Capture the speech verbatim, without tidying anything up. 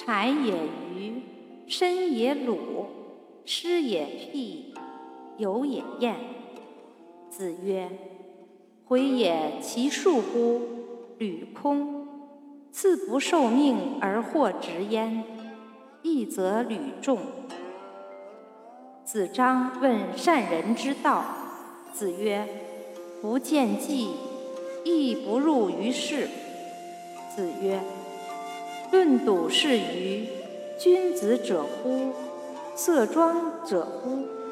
豺也鱼，参也鲁，师也辟，友也晏。子曰：回也其恕乎？履空。赐不受命而获直焉，义则履众。子张问善人之道。子曰：不见计，亦不入于事。子曰：论笃是愚，君子者乎？色庄者乎？